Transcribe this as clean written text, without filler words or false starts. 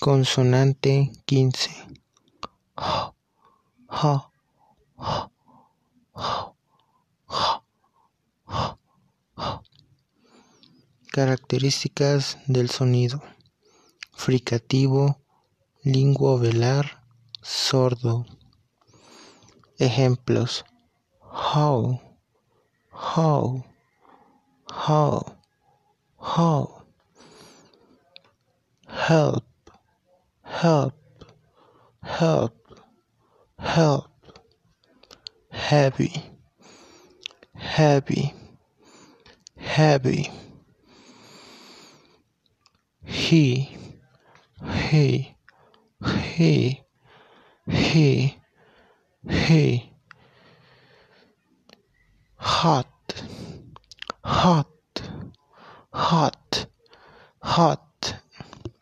Consonante 15. H, H, H, H, H, H. Características del sonido: fricativo, linguovelar, sordo. Ejemplos: how, how, how, how. Help, help, help, help. Heavy, heavy, heavy. He, he, he, he, he. Hot, hot, hot, hot.